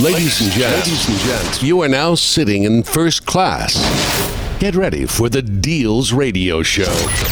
Ladies and gents, you are now sitting in first class. Get ready for the Deals Radio Show.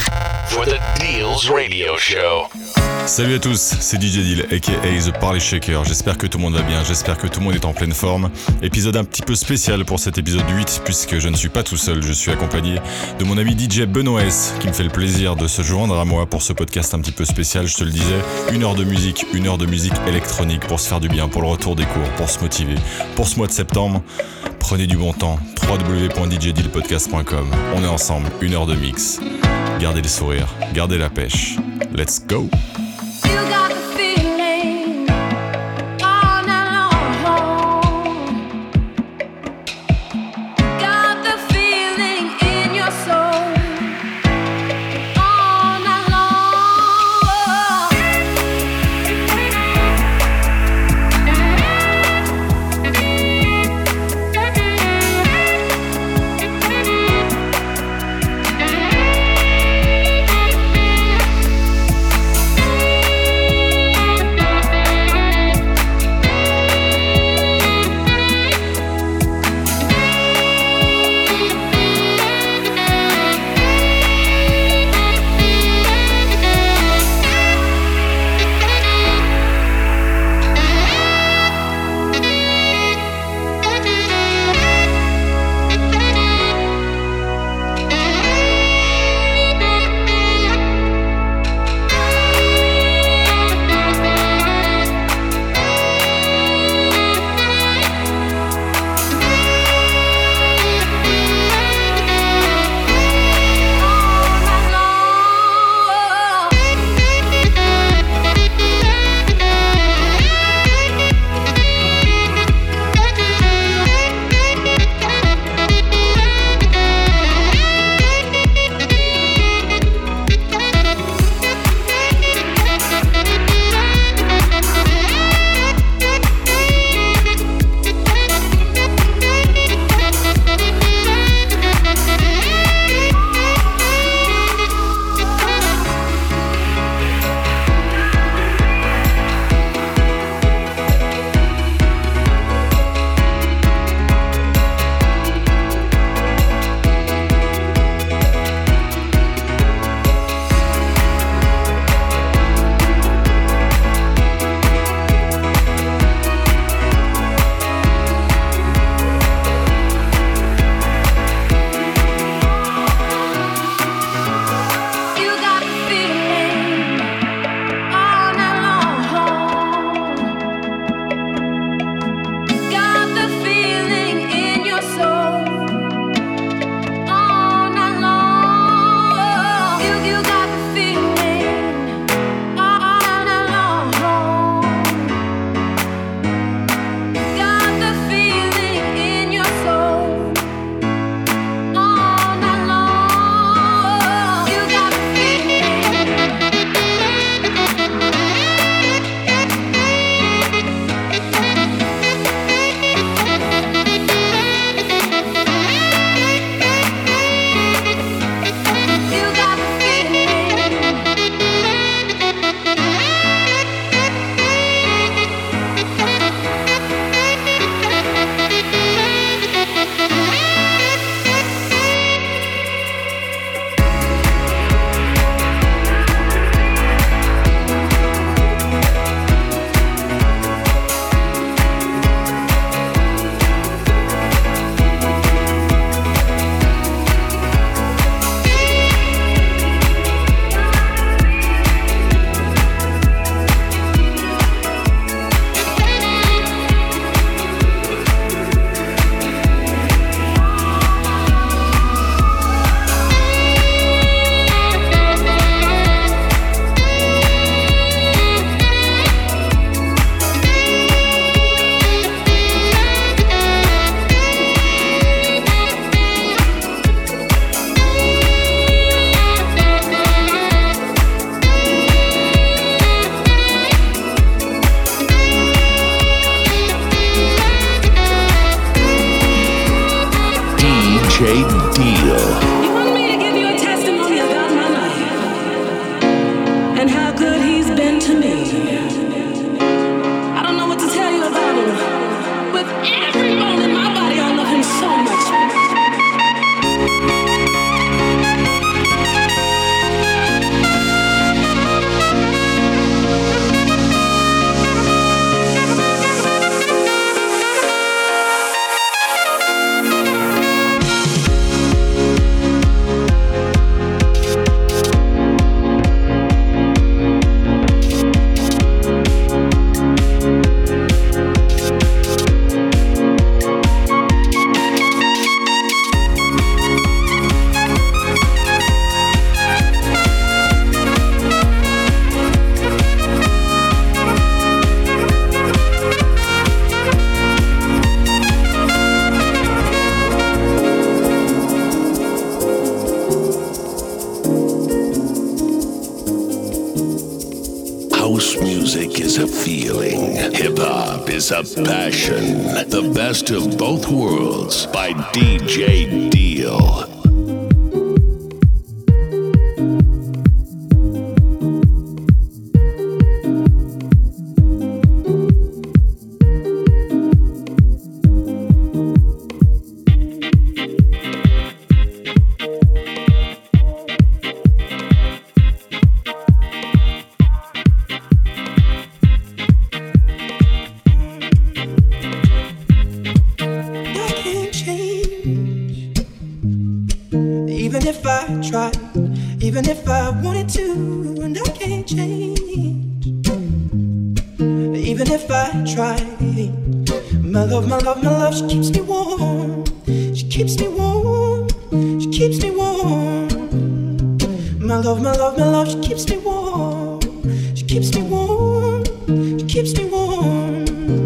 Salut à tous, c'est DJ Deal, aka The Party Shaker. J'espère que tout le monde va bien, j'espère que tout le monde est en pleine forme. Épisode un petit peu spécial pour cet épisode 8, puisque je ne suis pas tout seul, je suis accompagné de mon ami DJ Benoît S, qui me fait le plaisir de se joindre à moi pour ce podcast un petit peu spécial, je te le disais. 1 heure de musique électronique pour se faire du bien, pour le retour des cours, pour se motiver. Pour ce mois de septembre, prenez du bon temps, www.djdealpodcast.com. On est ensemble, 1 heure de mix. Gardez le sourire, gardez la pêche. Let's go! feeling. Hip hop is a passion. The best of both worlds by DJ Deal. Even if I wanted to, and I can't change. Even if I try, my love, she keeps me warm. She keeps me warm. She keeps me warm. My love, she keeps me warm. She keeps me warm. She keeps me warm.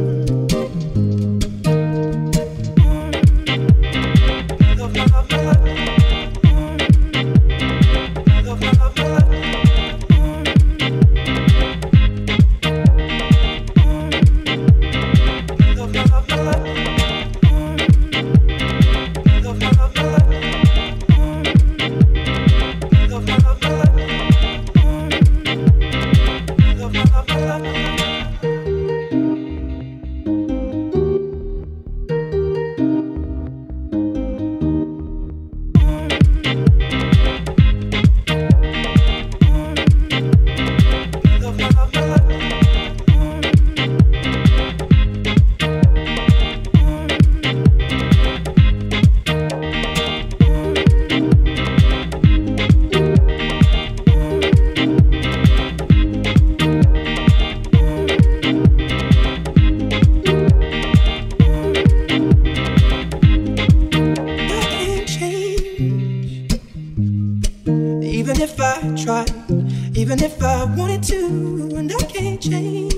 Even if I wanted to, and I can't change.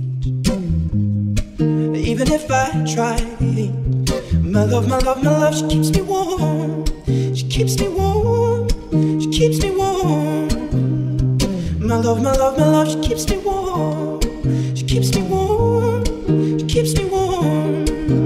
Even if I try, my love, she keeps me warm. She keeps me warm. She keeps me warm. My love, she keeps me warm. She keeps me warm. She keeps me warm.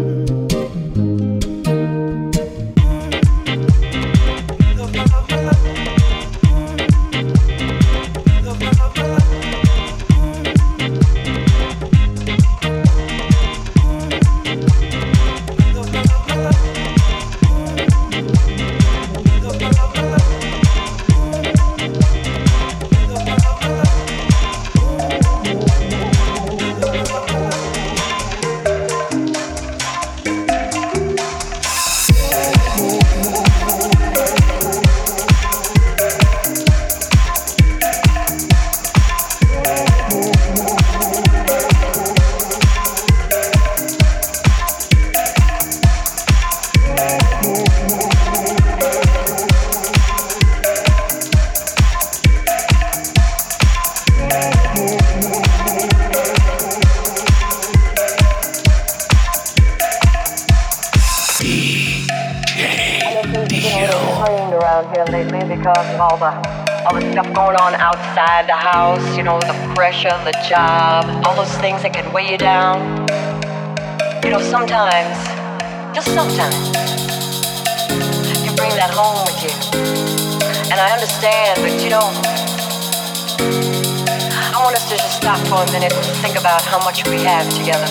All the stuff going on outside the house, you know, the pressure, the job, all those things that can weigh you down. You know, sometimes, just sometimes, you bring that home with you. And I understand, but you know, I want us to just stop for a minute and think about how much we have together.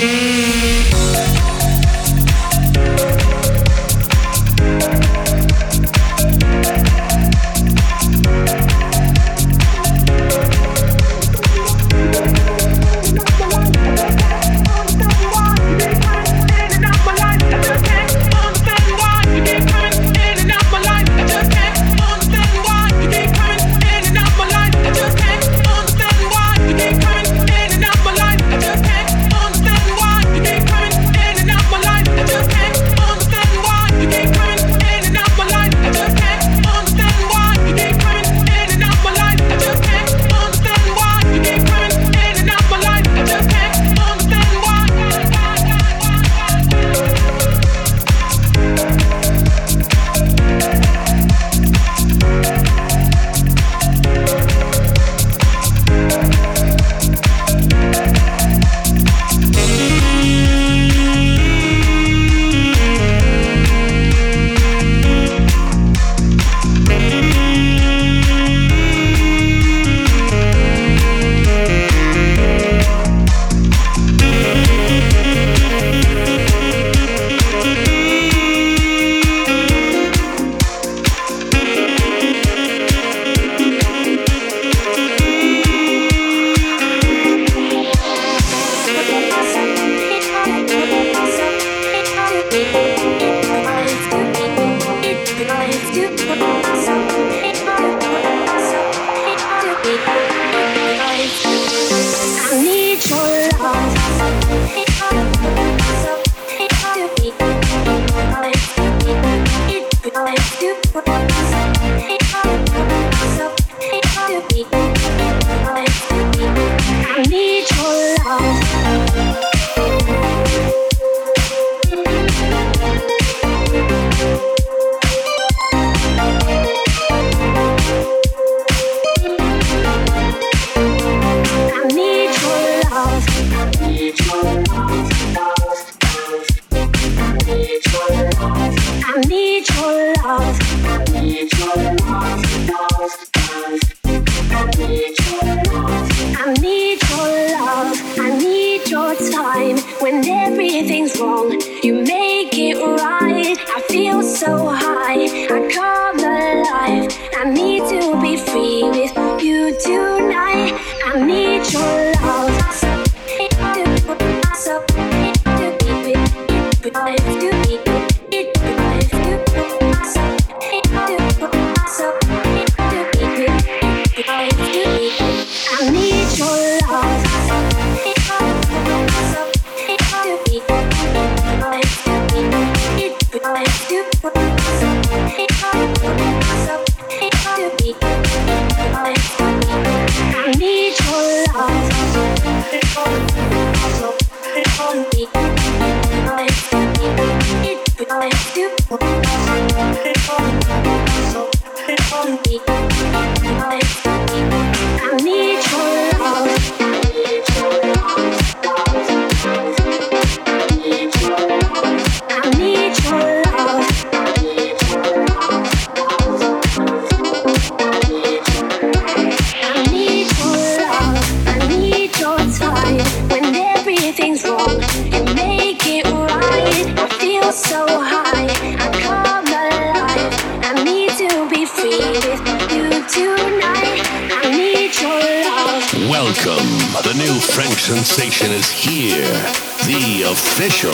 Sensation is here, the official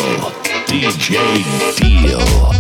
DJ Deal.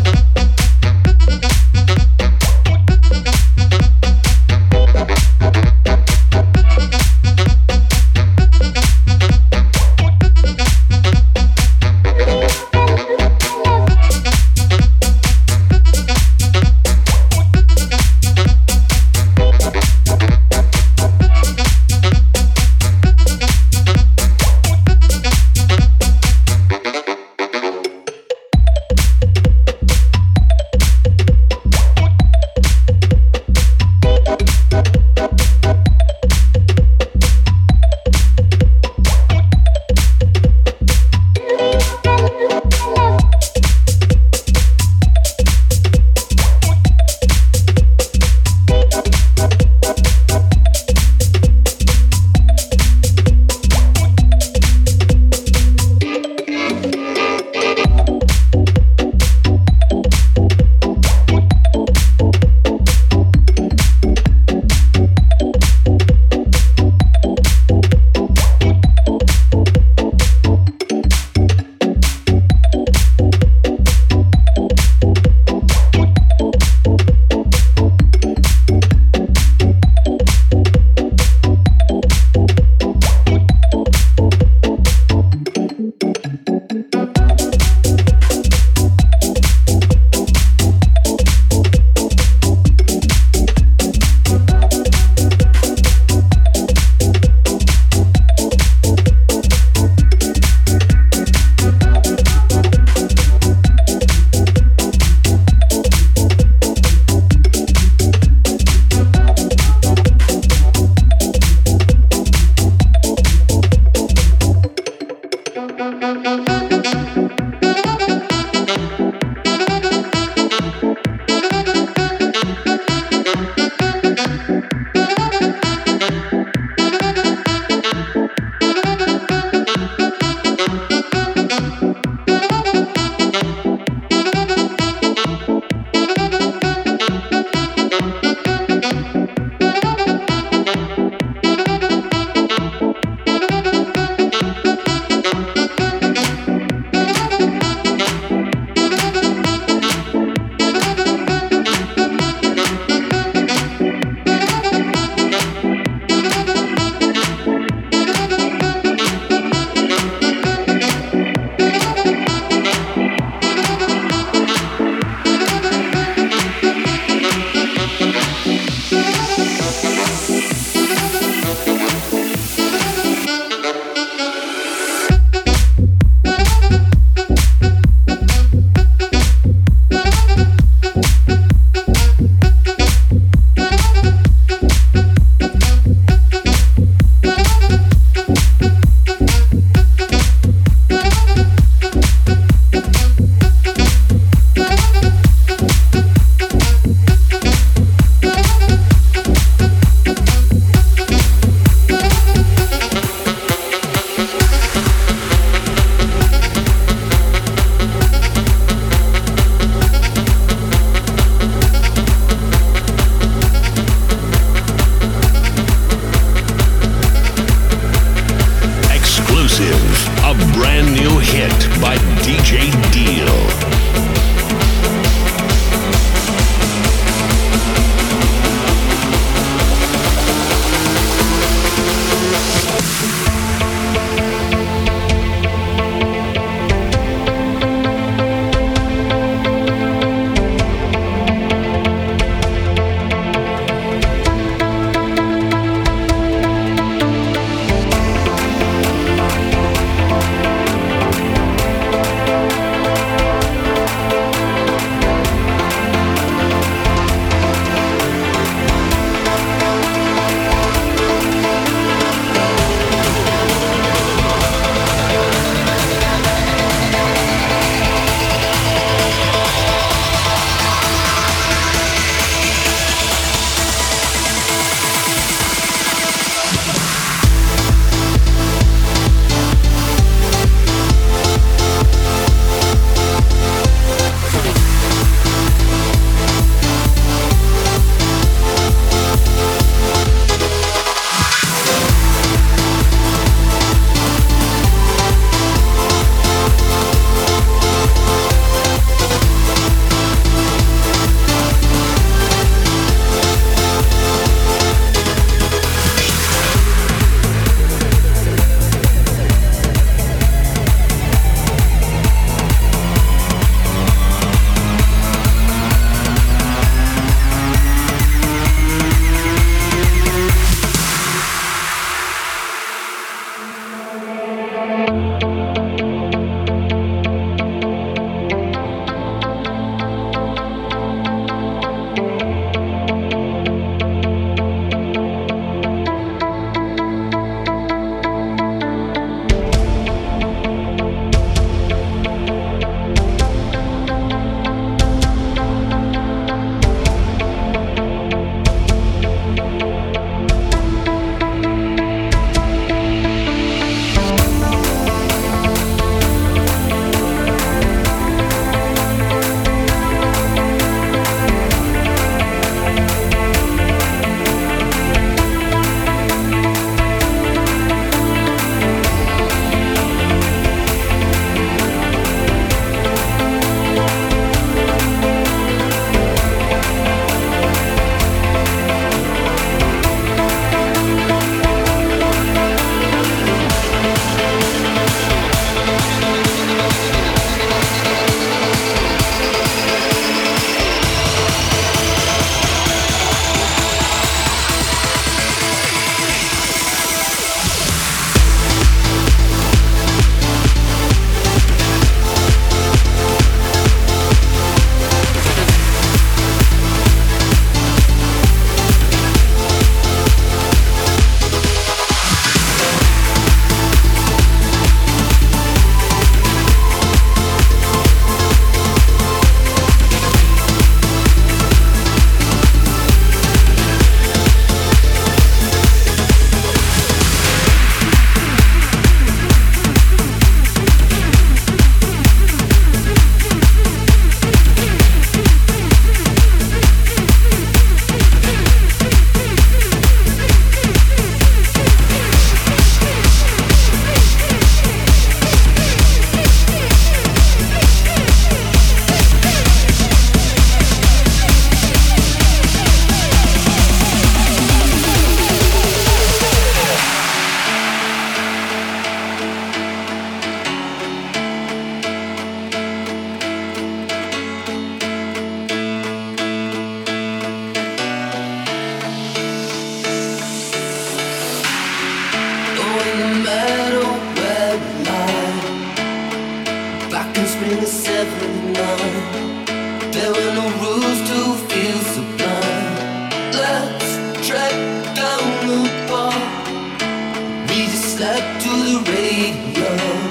in spring of '79. There were no rules to feel sublime. Let's track down the bar. We just slept to the radio.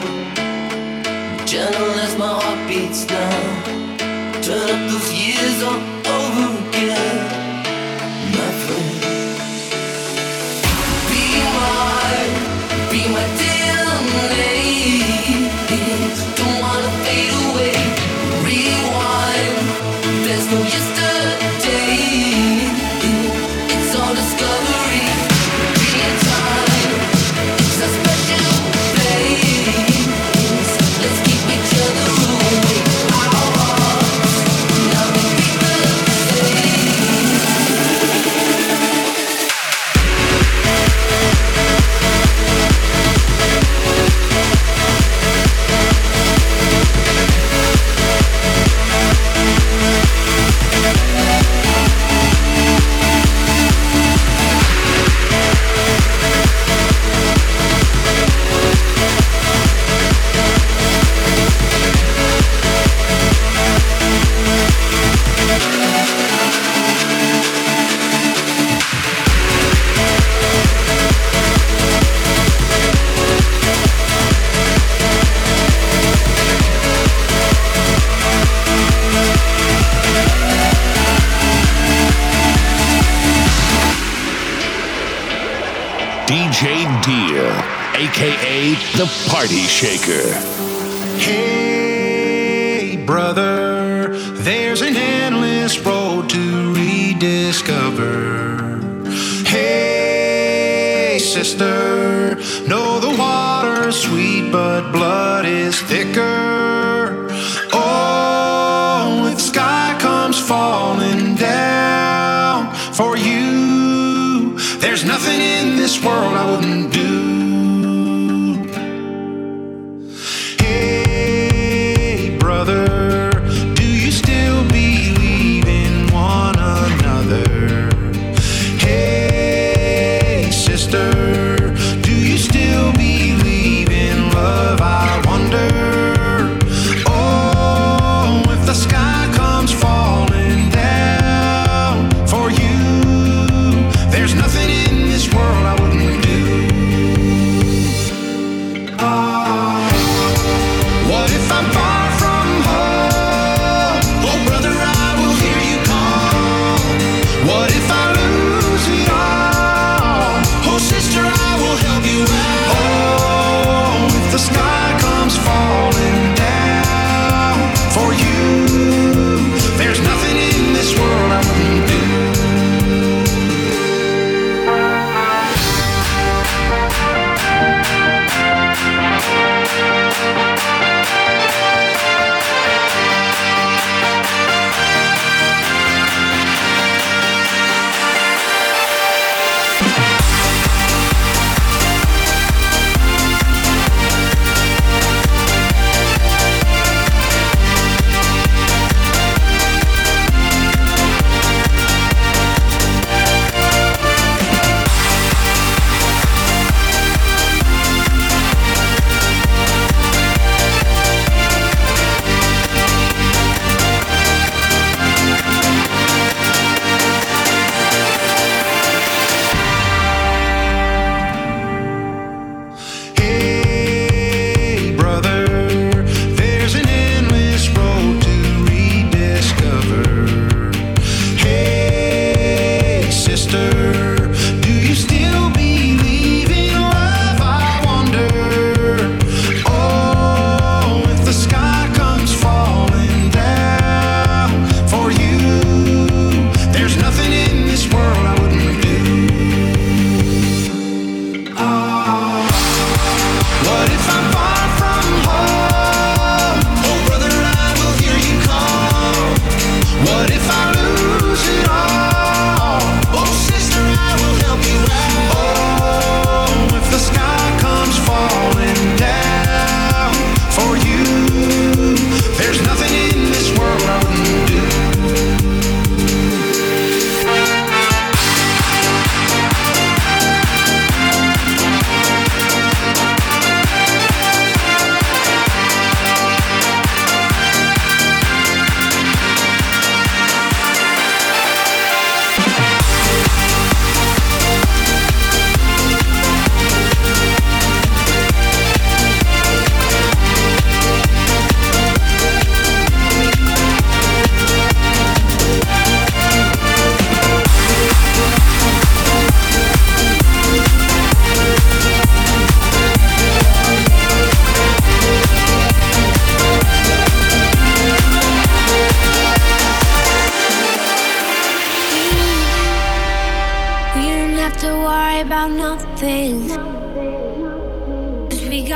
Gentle as my heart beats now. Turn up those years all over again, my friend. Be my dear lady. Don't wanna fade away. Rewind. There's no yesterday. It's all discovery. Real time. It's a special place. Let's keep each other awake. Our hearts now they beat the same. DJ Deal, aka The Party Shaker. Hey, brother, there's an endless road to rediscover. Hey, sister, know the water's sweet, but blood is thicker. Oh, if the sky comes falling down for you, there's nothing in this world I wouldn't do. Hey, brother, do you still believe in one another? Hey, sister, do you still believe in love? I wonder.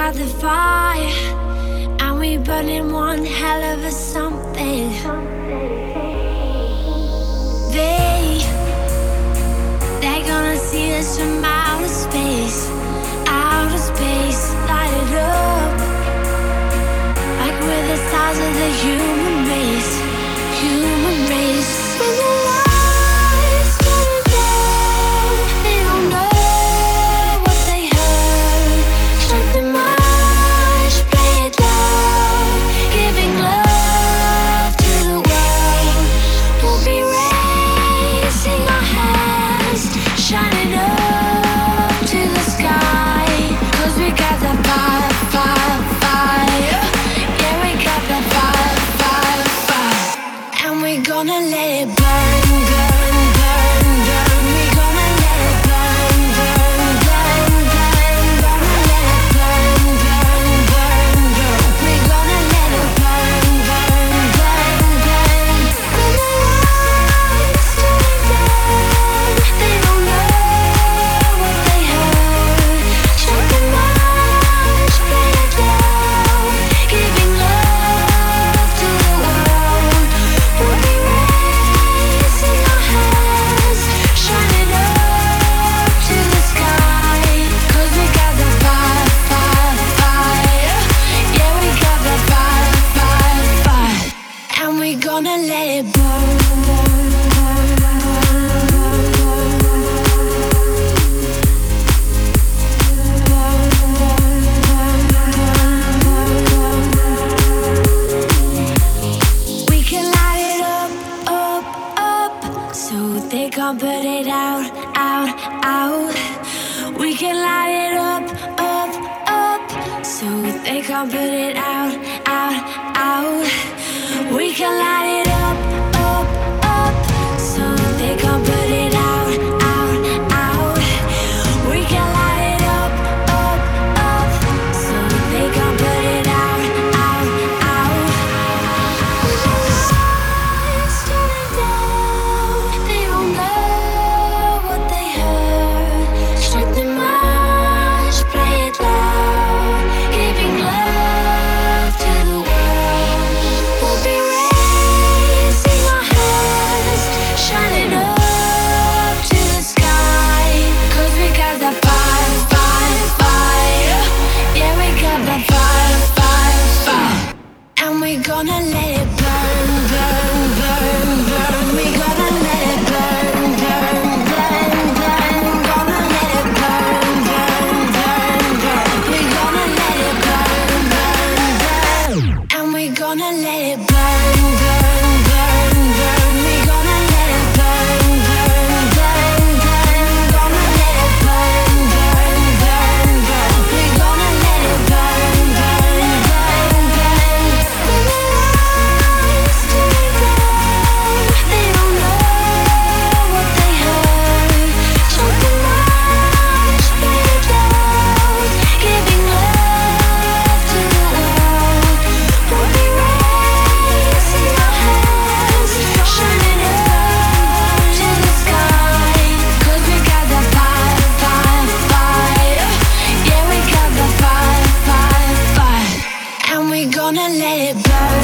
got the fire, and we burning one hell of a something. They're gonna see us from outer space, light it up, like we're the stars of the human race. When the lights turn down, they don't know what they heard. Strike the march, play it loud, giving love to the world. We'll be raising our hands, shining up to the sky. 'Cause we got the fire, fire, fire. Yeah, we got the fire, fire, fire. And we're gonna let it burn, burn, burn, burn. We're gonna let it burn, burn, burn, burn. Gonna let it burn, burn, burn, burn. We're gonna let it burn, burn, burn, burn. When the lights turn down, they don't know what they heard. Strike the march, play it loud, giving love to the world. We'll be raising our hands, shining up to the sky. 'Cause we got the fire, fire, fire. Yeah, we got the fire, fire, fire. And we're gonna let it burn. We can light it up, up, up, so they can't put it out, out, out. We can light it up, up, up, so they can't put it out, out, out. We can light it up, up, up, so they can't put it out, out, out. We can light it up, up, so they can't put it out, out, out. Lights turning down, they don't know what they heard. Strike the march, play it loud, giving love to the world. We'll be raising our hands, shining up to the sky. 'Cause we got the fire, fire, fire. Yeah, we got the fire, fire, fire. And we're gonna let it burn, burn, burn, burn. We're gonna let it burn, burn, burn, burn. Gonna let it burn, burn, burn, burn. We're gonna let it burn, burn, burn. And we're gonna let it burn, burn, burn, burn. We're gonna let it burn, burn, burn, burn. Gonna let it burn, burn, burn, burn. We're gonna let it burn, burn, burn, burn. When the lights turn down, they don't know what they heard. Strike the march, play it loud, giving love to the world. We'll be raising our hands, shining up to the sky. 'Cause we got the fire, fire, fire. Yeah, we got the fire, fire, fire. And we're gonna let it burn.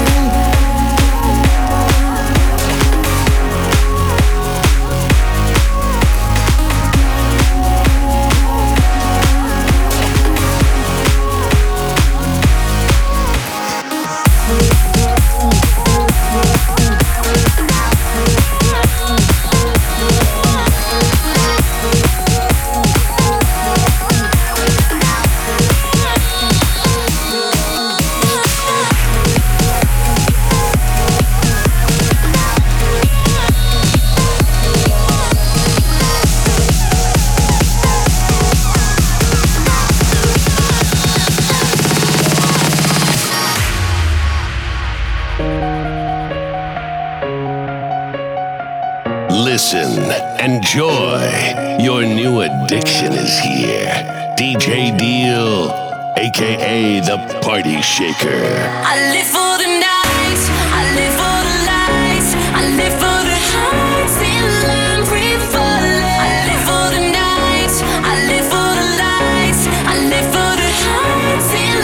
Listen, enjoy. Your new addiction is here. DJ Deal, aka the Party Shaker. I live for the night, I live for the lights, I live for the heights in line free falling. I live for the night, I live for the lights, I live for the heights in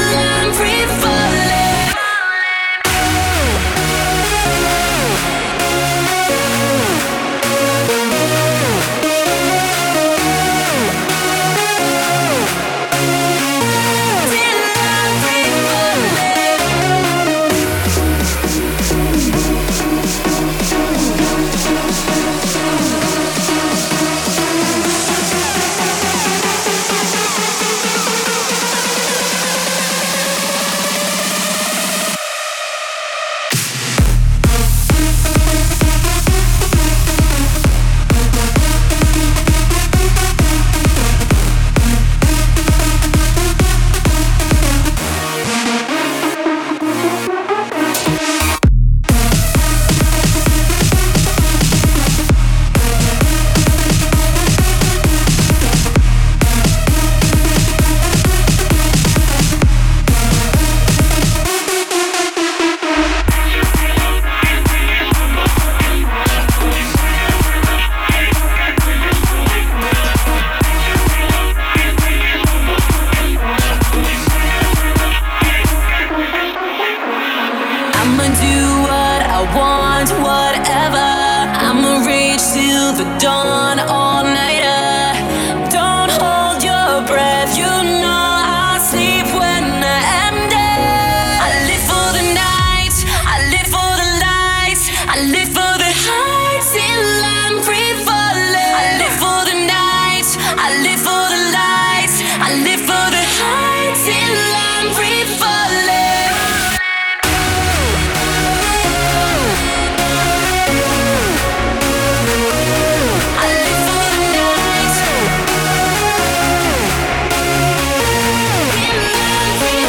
I'ma do what I want, whatever. I'ma reach till the dawn, all nighter. Don't hold your breath, you know I'll sleep when I am dead. I live for the night, I live for the lights, I live for the heights till I'm free falling. I live for the night, I live for the lights, I live for the heights till I'm free falling. I live for the night till I'm free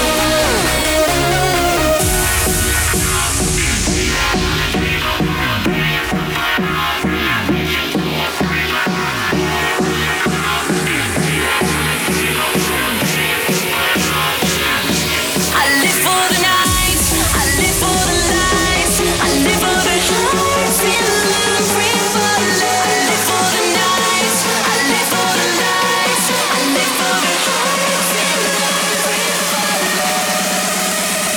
I live for the night, I live for the lights, I live for the heights till I'm free falling. I live for the night, I live for the lights, I live for the heights till I'm free falling.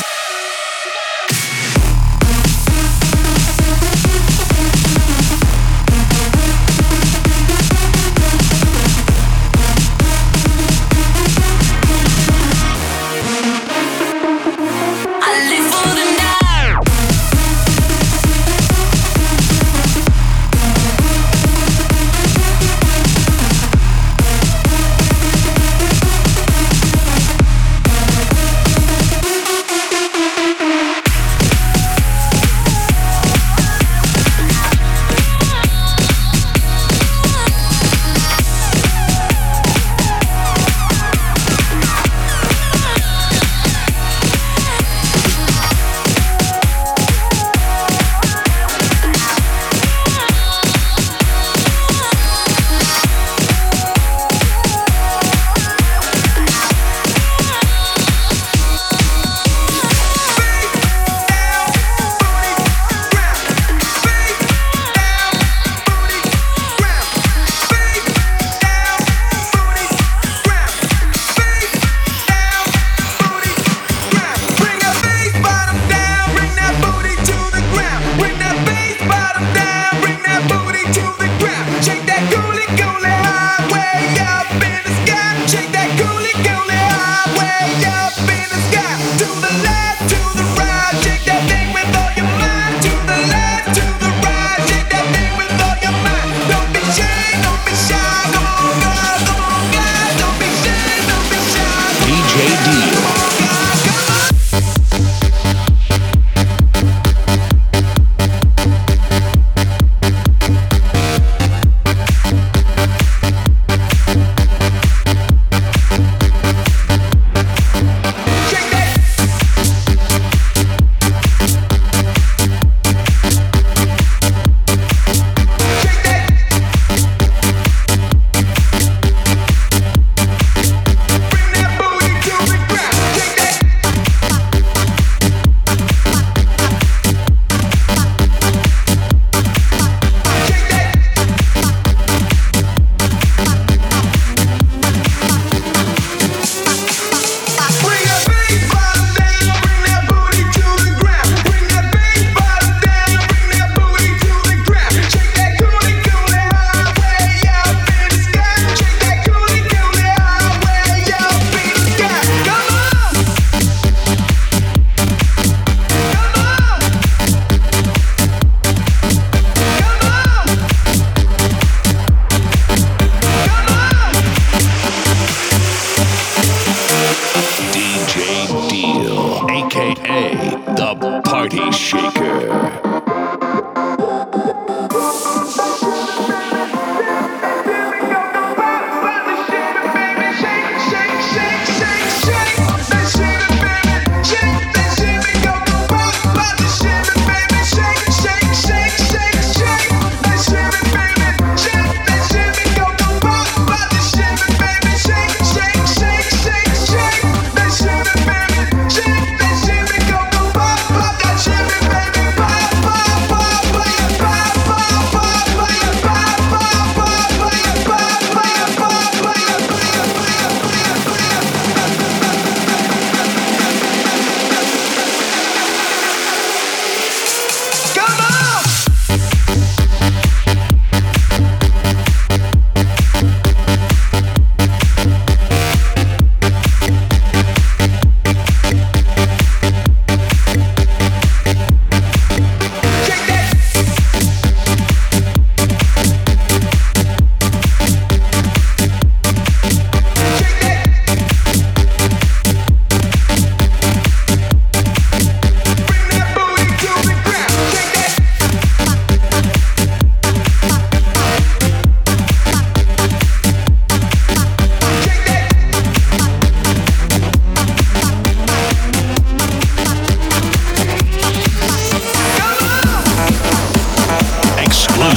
I live for the night.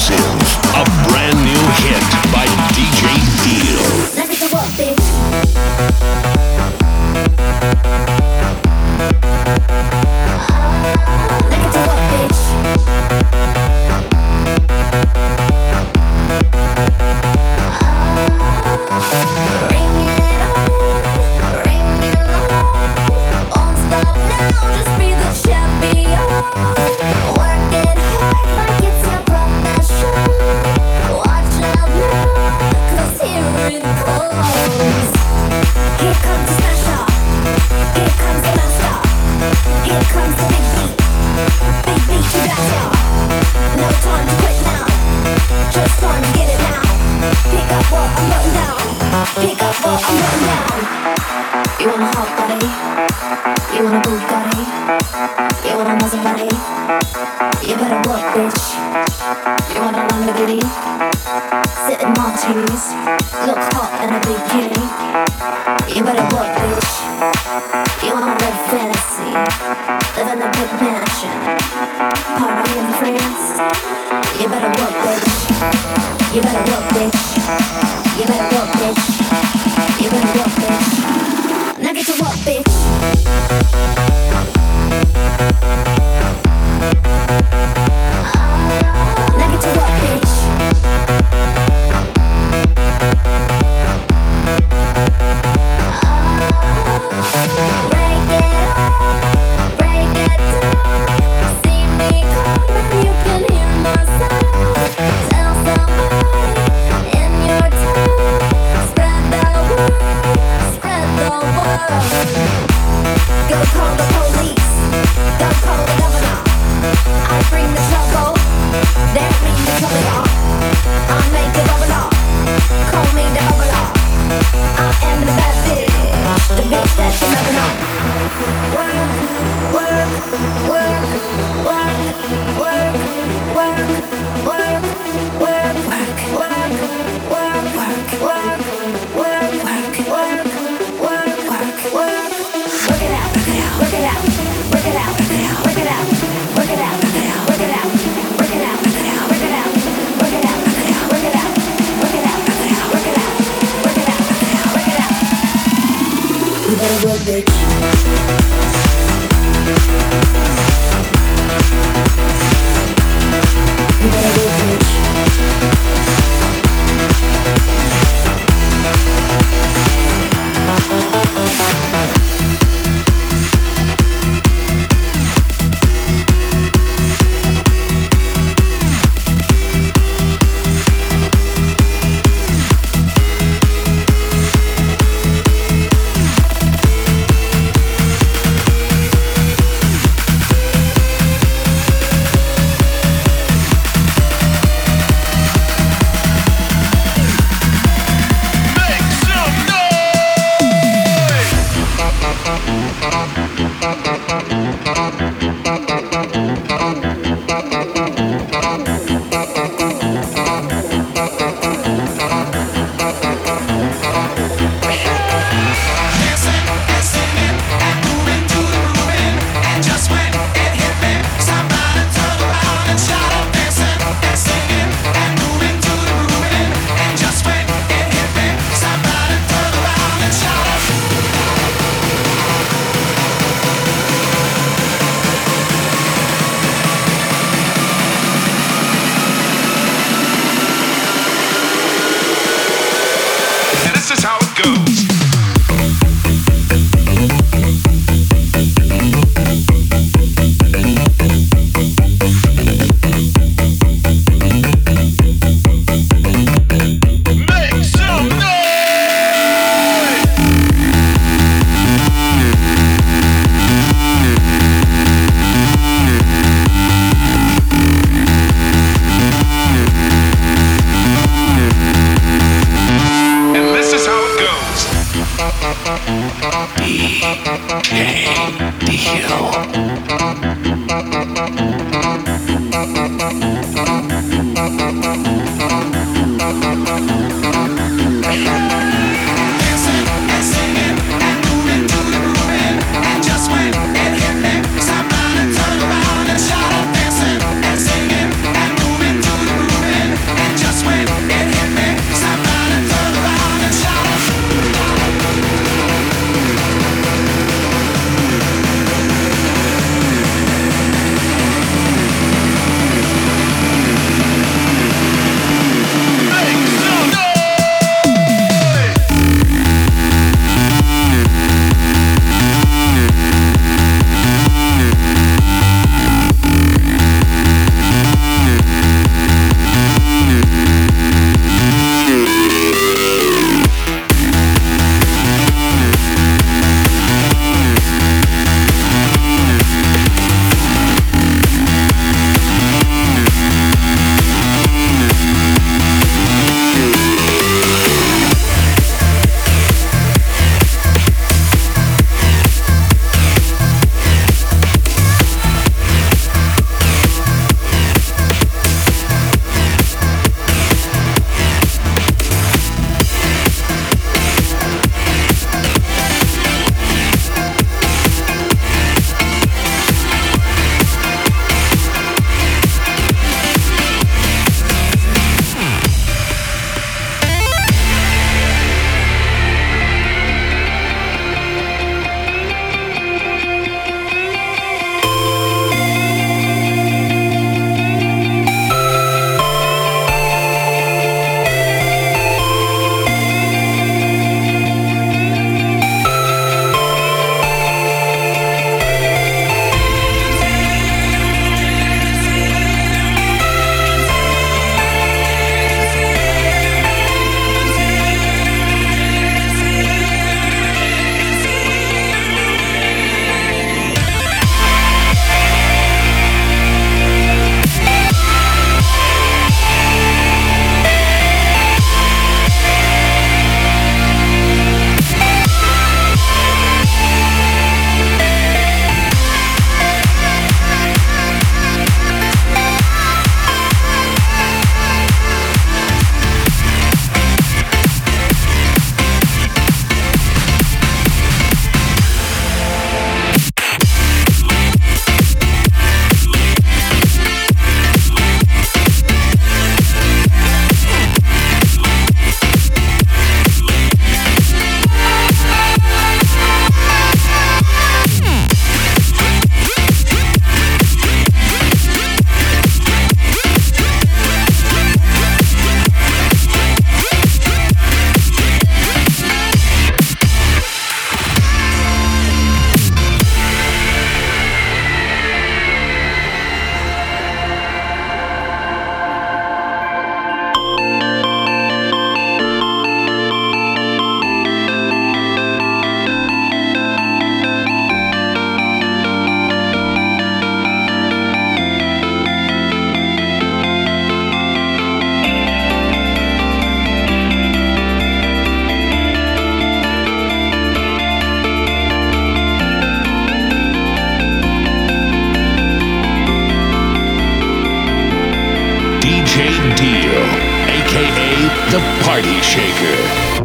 exclusive, a brand new hit by DJ Deal. Let me do what, bitch? Let me do what, bitch? Bring it on, won't stop now, just be the champion. Work it hard like it's your profession. Watch out now, 'cause here it goes. Here comes the smasher, here comes the master, here comes the big beat to blast ya. No time to quit now, just time to get it now. Pick up what I'm putting down, pick up what I'm putting down. You want a hot body, you want a Bugatti, you want a Maserati, you better work, bitch. You want a Lamborghini, sit in martinis, look hot in a bikini. You better work, bitch. You want a red fantasy, live in a big mansion, party in France. You better work, bitch. You better work, bitch. You better work, bitch. You better work, bitch. Now get to work, bitch. Now get to work, bitch. Break it up, break it down. See me coming, you can hear my sound. Tell somebody in your town. Spread the word, spread the word. Go call the police, go call the governor. I bring the trouble, they bring the trouble. I make it bubble. Call me the bubble. I am the bad bitch, the bitch that you never know. Work, work, work, work, work, work, work, work, work, work, work, work, work, work, work, work, work, work, work. Work it out, work it out, work it out, work it out, work it out, work it out, work it out, work it out, work it out, work it out, work it out, work it out, work it out, work it out, work it out, work it out, work it out. You better work, bitch. You better work, bitch. Deal, aka the Party Shaker.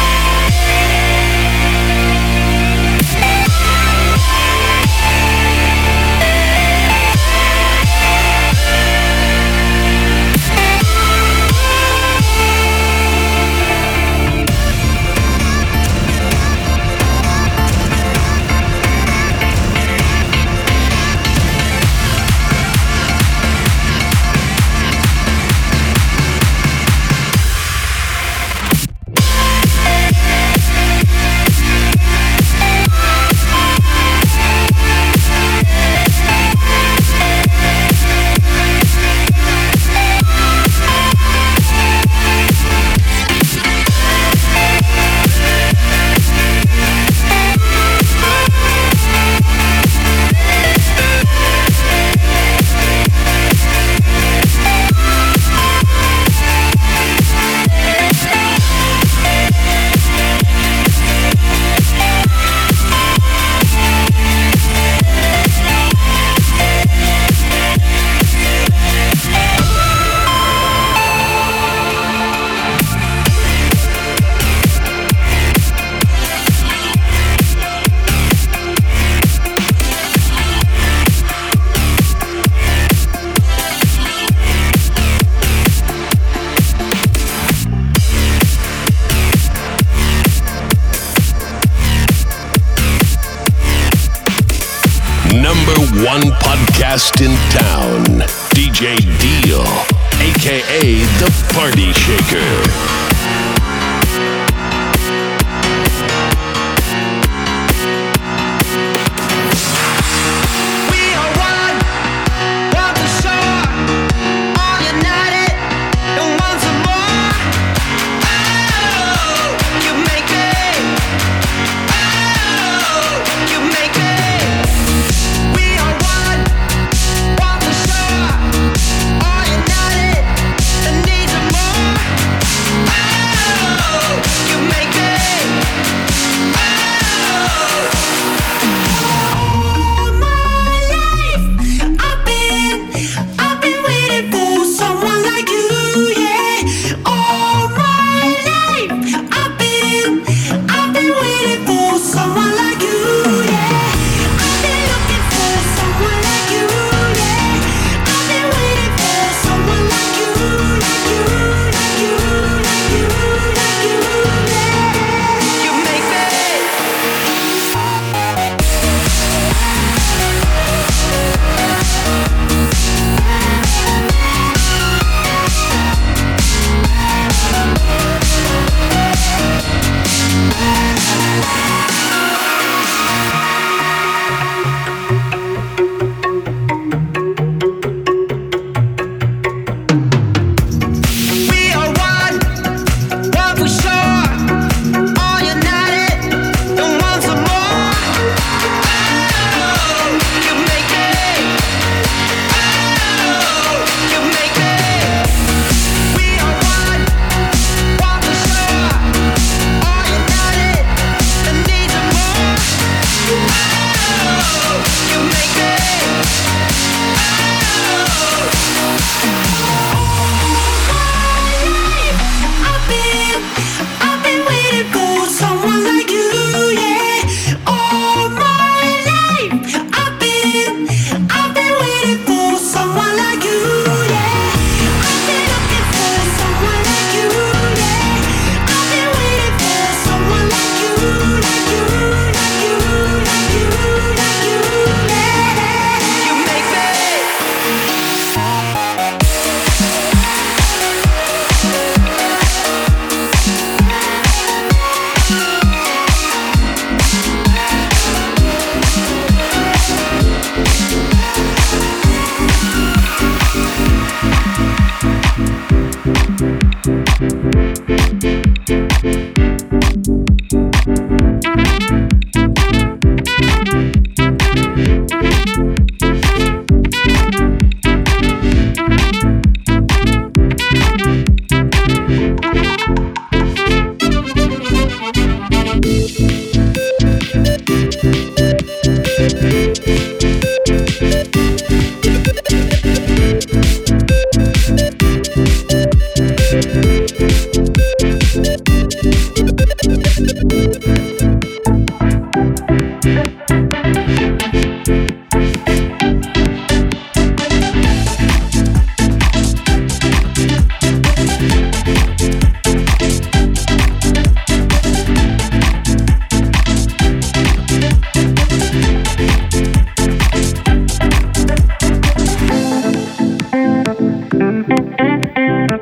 One podcast in town, DJ Deal, aka the Party Shaker. Ah!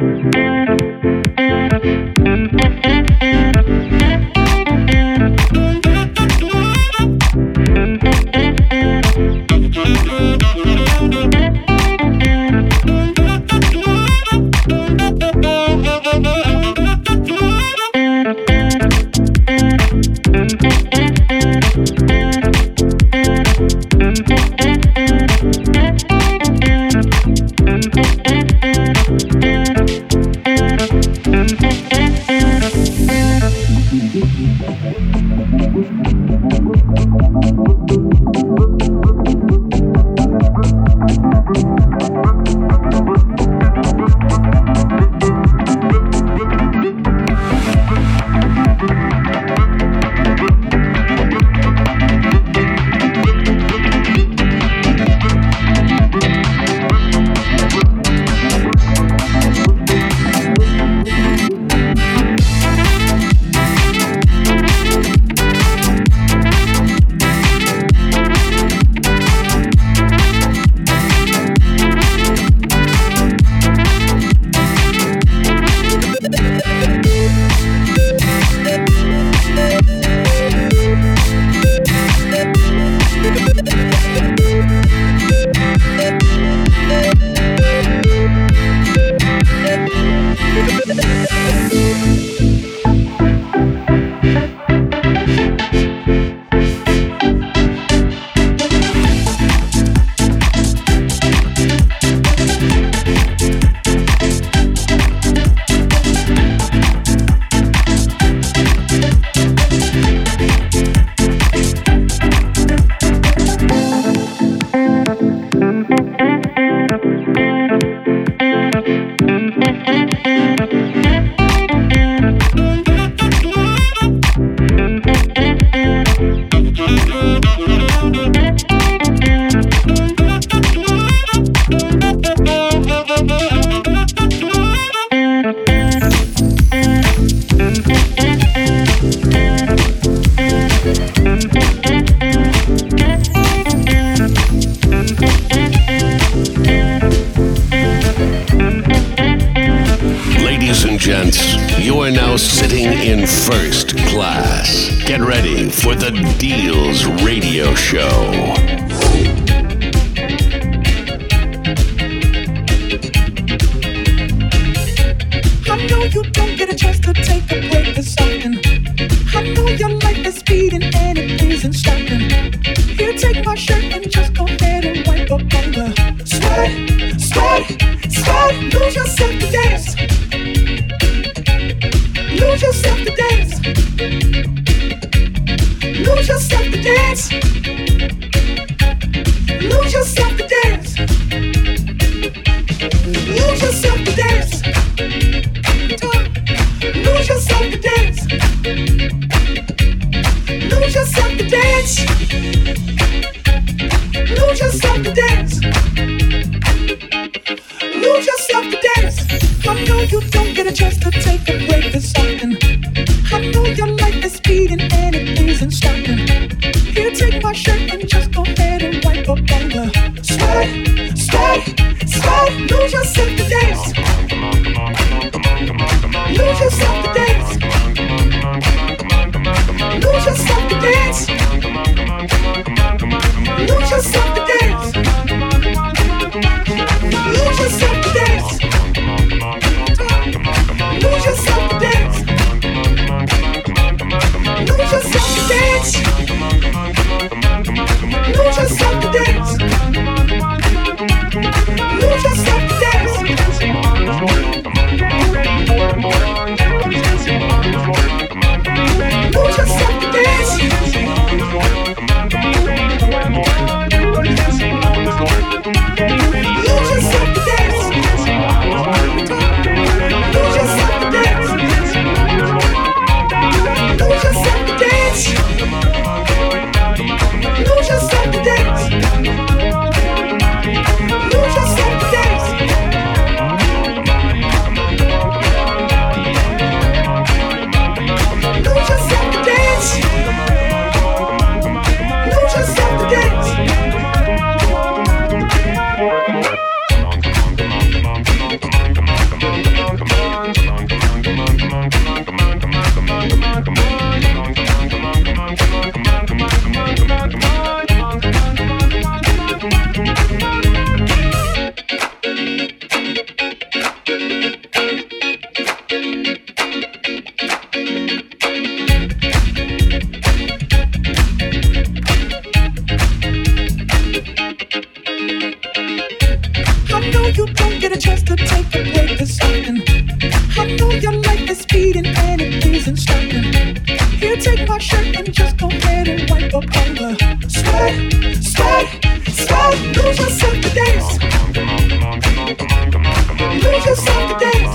You are now sitting in first class. Get ready for the Deals Radio Show. I know you don't get a chance to take a break this often. I know your life is speeding and it isn't stopping. Here, take my shirt and just go ahead and wipe up on the sweat, sweat, sweat. Lose yourself to dance. Lose yourself to dance. Lose yourself to dance. Lose yourself to dance. Lose yourself to dance. Lose yourself to dance. Lose yourself to dance. Lose yourself to dance. Lose yourself to dance. I know you don't get a chance to take a break this often. I know your life is speeding and it isn't stopping. Here, take my shirt and just go ahead and wipe up on the sweat, sweat, sweat. Lose yourself to dance. Lose yourself to dance. Lose yourself to dance. Lose yourself to dance. Lose yourself to dance. Lose yourself to dance. Lose yourself to dance. Lose yourself to dance. Lose yourself to dance. Lose yourself to dance. Lose yourself to dance. know you don't get a chance to take a break this often. I know your life is speeding and it isn't stopping. Here, take my shirt and just go ahead and wipe up all the sweat, sweat, sweat. Lose yourself to dance. Lose yourself to dance.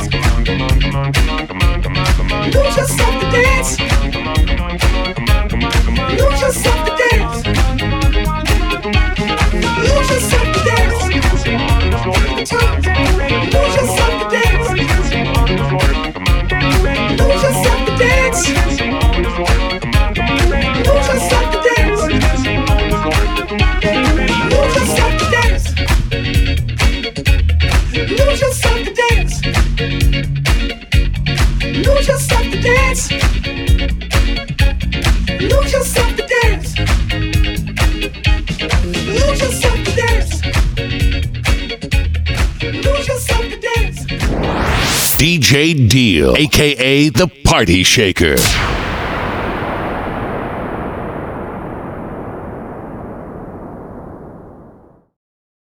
Lose yourself to dance. Lose yourself to dance. Lose yourself to dance. Lose yourself to dance. Lose yourself to dance. Lose yourself to dance. Lose yourself to dance. Lose yourself to dance. Lose yourself to dance. Lose yourself to dance. Lose yourself to dance. Lose yourself to dance. DJ Deal, aka the Party Shaker.